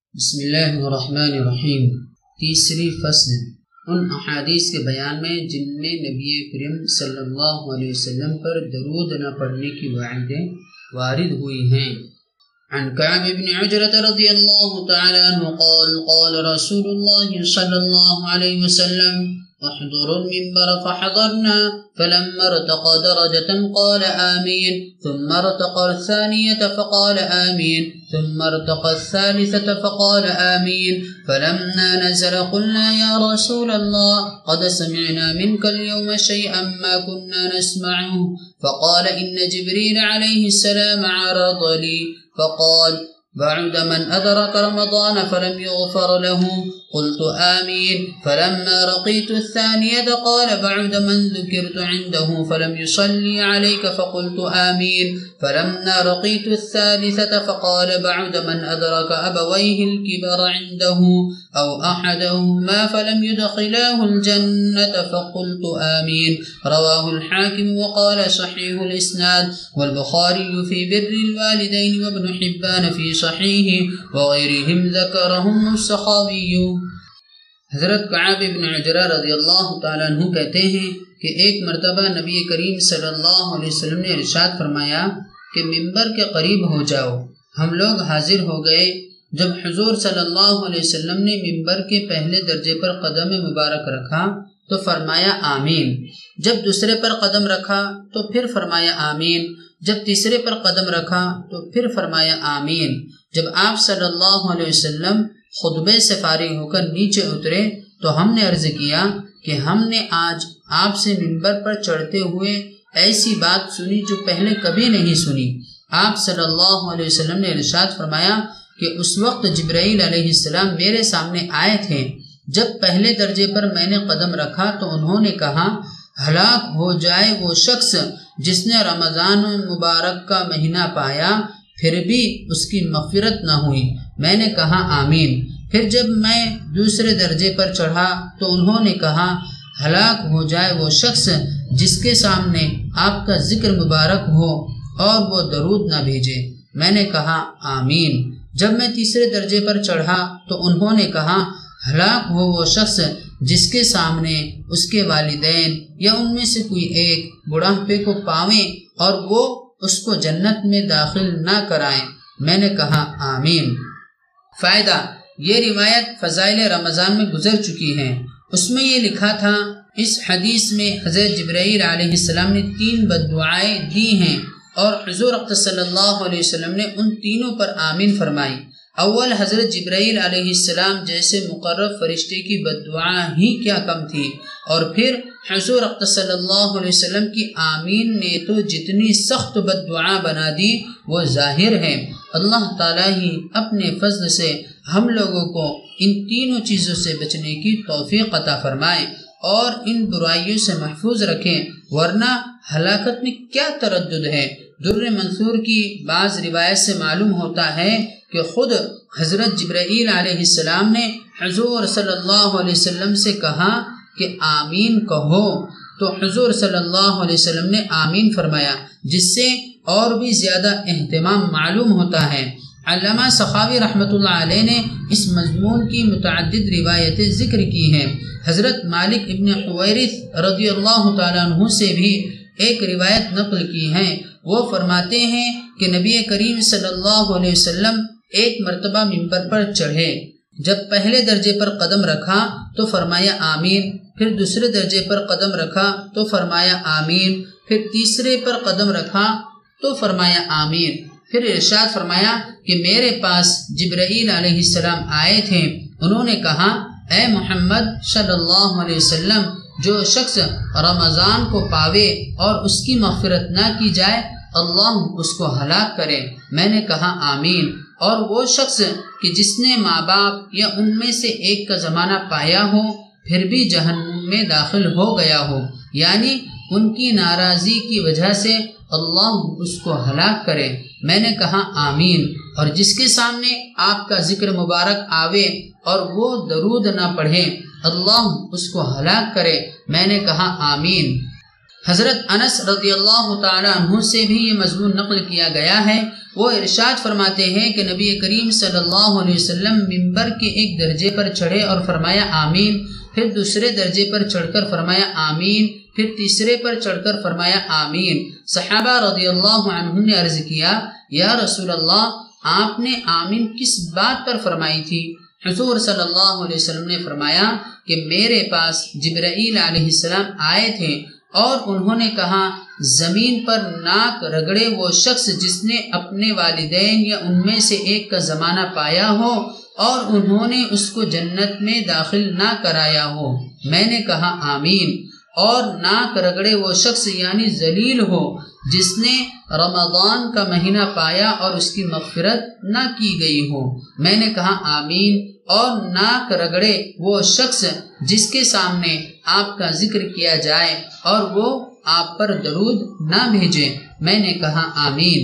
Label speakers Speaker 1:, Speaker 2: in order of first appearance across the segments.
Speaker 1: بسم اللہ الرحمن الرحیم۔ تیسری فصل ان احادیث کے بیان میں جن میں نبی کریم صلی اللہ علیہ وسلم پر درود نہ پڑھنے کی وعیدیں وارد ہوئی ہیں۔ عن كعب بن عجرة رضی اللہ تعالی عنہ قال قال رسول اللہ صلی اللہ علیہ وسلم احضروا المنبر فحضرنا فلما ارتقى درجة قال آمين ثم ارتقى الثانية فقال آمين ثم ارتقى الثالثة فقال آمين فلما نزل قلنا يا رسول الله قد سمعنا منك اليوم شيئا ما كنا نسمعه فقال إن جبريل عليه السلام عرض لي فقال بعد من أدرك رمضان فلم يغفر له قلت آمين فلما رقيت الثانية قال بعد من ذكرت عنده فلم يصلي عليك فقلت آمين فلما رقيت الثالثة فقال بعد من أدرك أبويه الكبر عنده أو أحدهما فلم يدخلاه الجنة فقلت آمين رواه الحاكم وقال صحيح الإسناد والبخاري في بر الوالدين وابن حبان في صحيح وغيرهم ذكرهم السخاوي۔ حضرت کعب بن عجرہ رضی اللہ تعالیٰ عنہ کہتے ہیں کہ ایک مرتبہ نبی کریم صلی اللہ علیہ وسلم نے ارشاد فرمایا کہ منبر کے قریب ہو جاؤ۔ ہم لوگ حاضر ہو گئے۔ جب حضور صلی اللہ علیہ وسلم نے منبر کے پہلے درجے پر قدم مبارک رکھا تو فرمایا آمین، جب دوسرے پر قدم رکھا تو پھر فرمایا آمین، جب تیسرے پر قدم رکھا تو پھر فرمایا آمین۔ جب آپ صلی اللہ علیہ وسلم خطبے سے فارغ ہو کر نیچے اترے تو ہم نے عرض کیا کہ ہم نے آج آپ سے منبر پر چڑھتے ہوئے ایسی بات سنی جو پہلے کبھی نہیں سنی۔ آپ صلی اللہ علیہ وسلم نے ارشاد فرمایا کہ اس وقت جبرائیل علیہ السلام میرے سامنے آئے تھے۔ جب پہلے درجے پر میں نے قدم رکھا تو انہوں نے کہا ہلاک ہو جائے وہ شخص جس نے رمضان مبارک کا مہینہ پایا پھر بھی اس کی مغفرت نہ ہوئی۔ میں نے کہا آمین۔ پھر جب میں دوسرے درجے پر چڑھا تو انہوں نے کہا ہلاک ہو جائے وہ شخص جس کے سامنے آپ کا ذکر مبارک ہو اور وہ درود نہ بھیجے۔ میں نے کہا آمین۔ جب میں تیسرے درجے پر چڑھا تو انہوں نے کہا ہلاک ہو وہ شخص جس کے سامنے اس کے والدین یا ان میں سے کوئی ایک بڑھاپے کو پاویں اور وہ اس کو جنت میں داخل نہ کرائیں۔ میں نے کہا آمین۔ فائدہ: یہ روایت فضائل رمضان میں گزر چکی ہے۔ اس میں یہ لکھا تھا اس حدیث میں حضرت جبرائیل علیہ السلام نے 3 بددعائیں دی ہیں اور حضور اقدس صلی اللہ علیہ وسلم نے ان تینوں پر آمین فرمائی۔ اول حضرت جبرائیل علیہ السلام جیسے مقرب فرشتے کی بددعا ہی کیا کم تھی، اور پھر حضور اقدس صلی اللہ علیہ وسلم کی آمین نے تو جتنی سخت بددعا بنا دی وہ ظاہر ہے۔ اللہ تعالیٰ ہی اپنے فضل سے ہم لوگوں کو ان تینوں چیزوں سے بچنے کی توفیق عطا فرمائے اور ان برائیوں سے محفوظ رکھیں، ورنہ ہلاکت میں کیا تردد ہے۔ در منصور کی بعض روایت سے معلوم ہوتا ہے کہ خود حضرت جبرائیل علیہ السلام نے حضور صلی اللہ علیہ وسلم سے کہا کہ آمین کہو، تو حضور صلی اللہ علیہ وسلم نے آمین فرمایا، جس سے اور بھی زیادہ اہتمام معلوم ہوتا ہے۔ علامہ سخاوی رحمۃ اللہ علیہ نے اس مضمون کی متعدد روایتیں ذکر کی ہیں۔ حضرت مالک ابن حویرث رضی اللہ تعالیٰ عنہ سے بھی ایک روایت نقل کی ہے۔ وہ فرماتے ہیں کہ نبی کریم صلی اللہ علیہ وسلم ایک مرتبہ منبر پر چڑھے۔ جب پہلے درجے پر قدم رکھا تو فرمایا آمین، پھر دوسرے درجے پر قدم رکھا تو فرمایا آمین، پھر تیسرے پر قدم رکھا تو فرمایا آمین۔ پھر ارشاد فرمایا کہ میرے پاس جبرائیل علیہ السلام آئے تھے۔ انہوں نے کہا اے محمد صلی اللہ علیہ وسلم، جو شخص رمضان کو پاوے اور اس کی مغفرت نہ کی جائے اللہ اس کو ہلاک کرے۔ میں نے کہا آمین۔ اور وہ شخص کہ جس نے ماں باپ یا ان میں سے ایک کا زمانہ پایا ہو پھر بھی جہنم میں داخل ہو گیا ہو، یعنی ان کی ناراضی کی وجہ سے اللہ اس کو ہلاک کرے۔ میں نے کہا آمین۔ اور جس کے سامنے آپ کا ذکر مبارک آوے اور وہ درود نہ پڑھے اللہ اس کو ہلاک کرے۔ میں نے کہا آمین۔ حضرت انس رضی اللہ تعالی عنہ سے بھی یہ مضمون نقل کیا گیا ہے۔ وہ ارشاد فرماتے ہیں کہ نبی کریم صلی اللہ علیہ وسلم منبر کے ایک درجے پر چڑھے اور فرمایا آمین، پھر دوسرے درجے پر چڑھ کر فرمایا آمین، پھر تیسرے پر چڑھ کر فرمایا آمین۔ صحابہ رضی اللہ عنہم نے عرض کیا یا رسول اللہ، آپ نے آمین کس بات پر فرمائی تھی؟ حضور صلی اللہ علیہ وسلم نے فرمایا کہ میرے پاس جبرائیل علیہ السلام آئے تھے اور انہوں نے کہا زمین پر ناک رگڑے وہ شخص جس نے اپنے والدین یا ان میں سے ایک کا زمانہ پایا ہو اور انہوں نے اس کو جنت میں داخل نہ کرایا ہو۔ میں نے کہا آمین۔ اور ناک رگڑے وہ شخص یعنی ذلیل ہو جس نے رمضان کا مہینہ پایا اور اس کی مغفرت نہ کی گئی ہو۔ میں نے کہا آمین۔ اور ناک رگڑے وہ شخص جس کے سامنے آپ کا ذکر کیا جائے اور وہ آپ پر درود نہ بھیجے۔ میں نے کہا آمین۔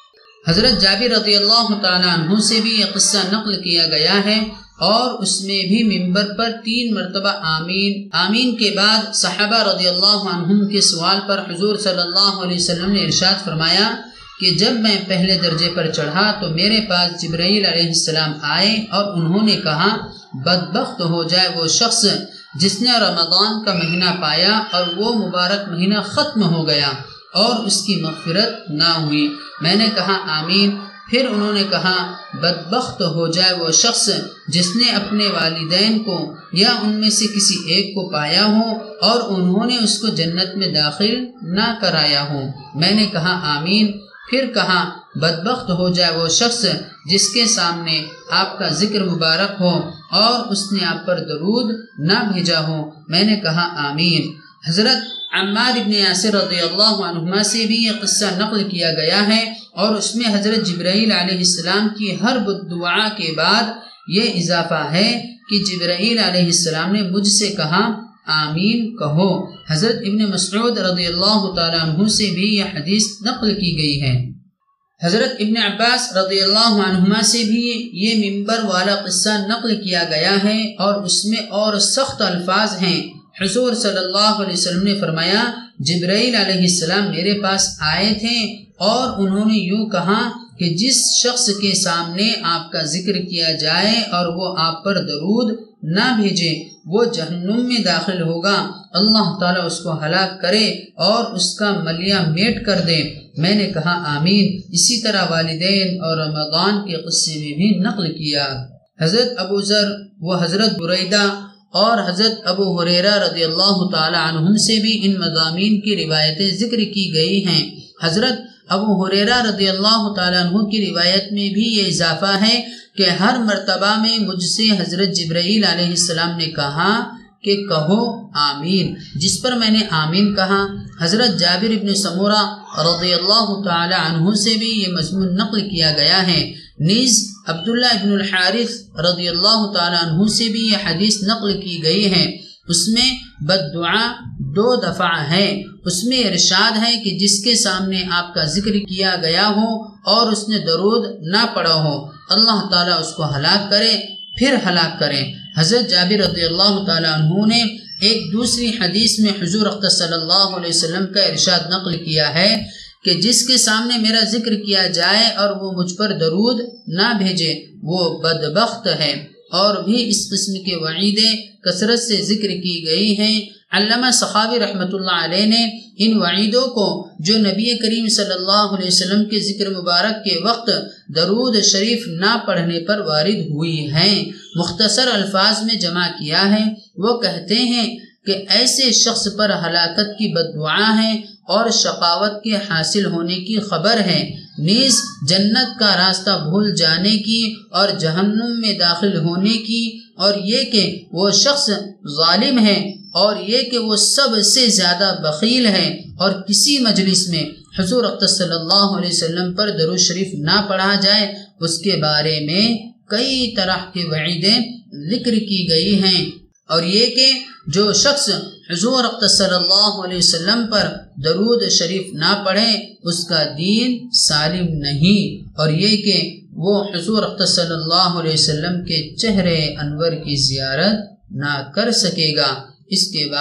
Speaker 1: حضرت جابر رضی اللہ تعالیٰ عنہ سے بھی یہ قصہ نقل کیا گیا ہے اور اس میں بھی منبر پر 3 مرتبہ آمین۔ آمین کے بعد صحابہ رضی اللہ عنہم کے سوال پر حضور صلی اللہ علیہ وسلم نے ارشاد فرمایا کہ جب میں پہلے درجے پر چڑھا تو میرے پاس جبرائیل علیہ السلام آئے اور انہوں نے کہا بدبخت ہو جائے وہ شخص جس نے رمضان کا مہینہ پایا اور وہ مبارک مہینہ ختم ہو گیا اور اس کی مغفرت نہ ہوئی۔ میں نے کہا آمین۔ پھر انہوں نے کہا بدبخت ہو جائے وہ شخص جس نے اپنے والدین کو یا ان میں سے کسی ایک کو پایا ہو اور انہوں نے اس کو جنت میں داخل نہ کرایا ہو۔ میں نے کہا آمین۔ پھر کہا بدبخت ہو جائے وہ شخص جس کے سامنے آپ کا ذکر مبارک ہو اور اس نے آپ پر درود نہ بھیجا ہو۔ میں نے کہا آمین۔ حضرت عمار ابن یاسر رضی اللہ عنہما سے بھی یہ قصہ نقل کیا گیا ہے اور اس میں حضرت جبرائیل علیہ السلام کی ہر دعا کے بعد یہ اضافہ ہے کہ جبرائیل علیہ السلام نے مجھ سے کہا آمین کہو۔ حضرت ابن مسعود رضی اللہ تعالیٰ عنہ سے بھی یہ حدیث نقل کی گئی ہے۔ حضرت ابن عباس رضی اللہ عنہما سے بھی یہ منبر والا قصہ نقل کیا گیا ہے اور اس میں اور سخت الفاظ ہیں۔ حضور صلی اللہ علیہ وسلم نے فرمایا جبرائیل علیہ السلام میرے پاس آئے تھے اور انہوں نے یوں کہا کہ جس شخص کے سامنے آپ کا ذکر کیا جائے اور وہ آپ پر درود نہ بھیجے وہ جہنم میں داخل ہوگا، اللہ تعالیٰ اس کو ہلاک کرے اور اس کا ملیہ میٹ کر دے۔ میں نے کہا آمین۔ اسی طرح والدین اور رمضان کے قصے میں بھی نقل کیا۔ حضرت ابو ذر و حضرت بریدہ اور حضرت ابو ہریرہ رضی اللہ تعالی عنہم سے بھی ان مضامین کی روایتیں ذکر کی گئی ہیں۔ حضرت ابو ہریرہ رضی اللہ تعالی عنہ کی روایت میں بھی یہ اضافہ ہے کہ ہر مرتبہ میں مجھ سے حضرت جبرائیل علیہ السلام نے کہا کہ کہو آمین، جس پر میں نے آمین کہا۔ حضرت جابر ابن سمورہ رضی اللہ تعالی عنہ سے بھی یہ مضمون نقل کیا گیا ہے۔ نیز عبداللہ ابن الحارث رضی اللہ تعالی عنہ سے بھی یہ حدیث نقل کی گئی ہے۔ اس میں بددعا 2 دفعہ ہے۔ اس میں ارشاد ہے کہ جس کے سامنے آپ کا ذکر کیا گیا ہو اور اس نے درود نہ پڑھا ہو اللہ تعالیٰ اس کو ہلاک کرے پھر ہلاک کرے۔ حضرت جابر رضی اللہ تعالیٰ عنہ نے ایک دوسری حدیث میں حضور اقدس صلی اللہ علیہ وسلم کا ارشاد نقل کیا ہے کہ جس کے سامنے میرا ذکر کیا جائے اور وہ مجھ پر درود نہ بھیجے وہ بدبخت ہے۔ اور بھی اس قسم کے وعیدیں کثرت سے ذکر کی گئی ہیں۔ علامہ سخاوی رحمۃ اللہ علیہ نے ان وعیدوں کو جو نبی کریم صلی اللہ علیہ وسلم کے ذکر مبارک کے وقت درود شریف نہ پڑھنے پر وارد ہوئی ہیں مختصر الفاظ میں جمع کیا ہے۔ وہ کہتے ہیں کہ ایسے شخص پر ہلاکت کی بددعا ہے اور شقاوت کے حاصل ہونے کی خبر ہے، نیز جنت کا راستہ بھول جانے کی اور جہنم میں داخل ہونے کی، اور یہ کہ وہ شخص ظالم ہے، اور یہ کہ وہ سب سے زیادہ بخیل ہے، اور کسی مجلس میں حضور اقدس صلی اللہ علیہ وسلم پر درود شریف نہ پڑھا جائے اس کے بارے میں کئی طرح کے وعیدیں ذکر کی گئی ہیں۔ اور یہ کہ جو شخص حضور اقدس صلی اللہ علیہ وسلم پر درود شریف نہ پڑھے اس کا دین سالم نہیں، اور یہ کہ وہ حضور اقدس صلی اللہ علیہ وسلم کے چہرے انور کی زیارت نہ کر سکے گا۔ اس کے بعد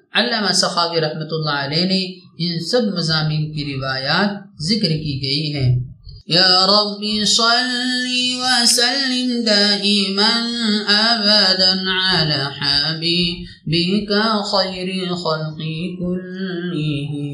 Speaker 1: علامہ سخاوی رحمۃ اللہ علیہ نے ان سب مضامین کی روایات ذکر کی گئی ہیں۔ یا رب صل وسلم دائما ابدا على حبیبک خیر الخلق کلهم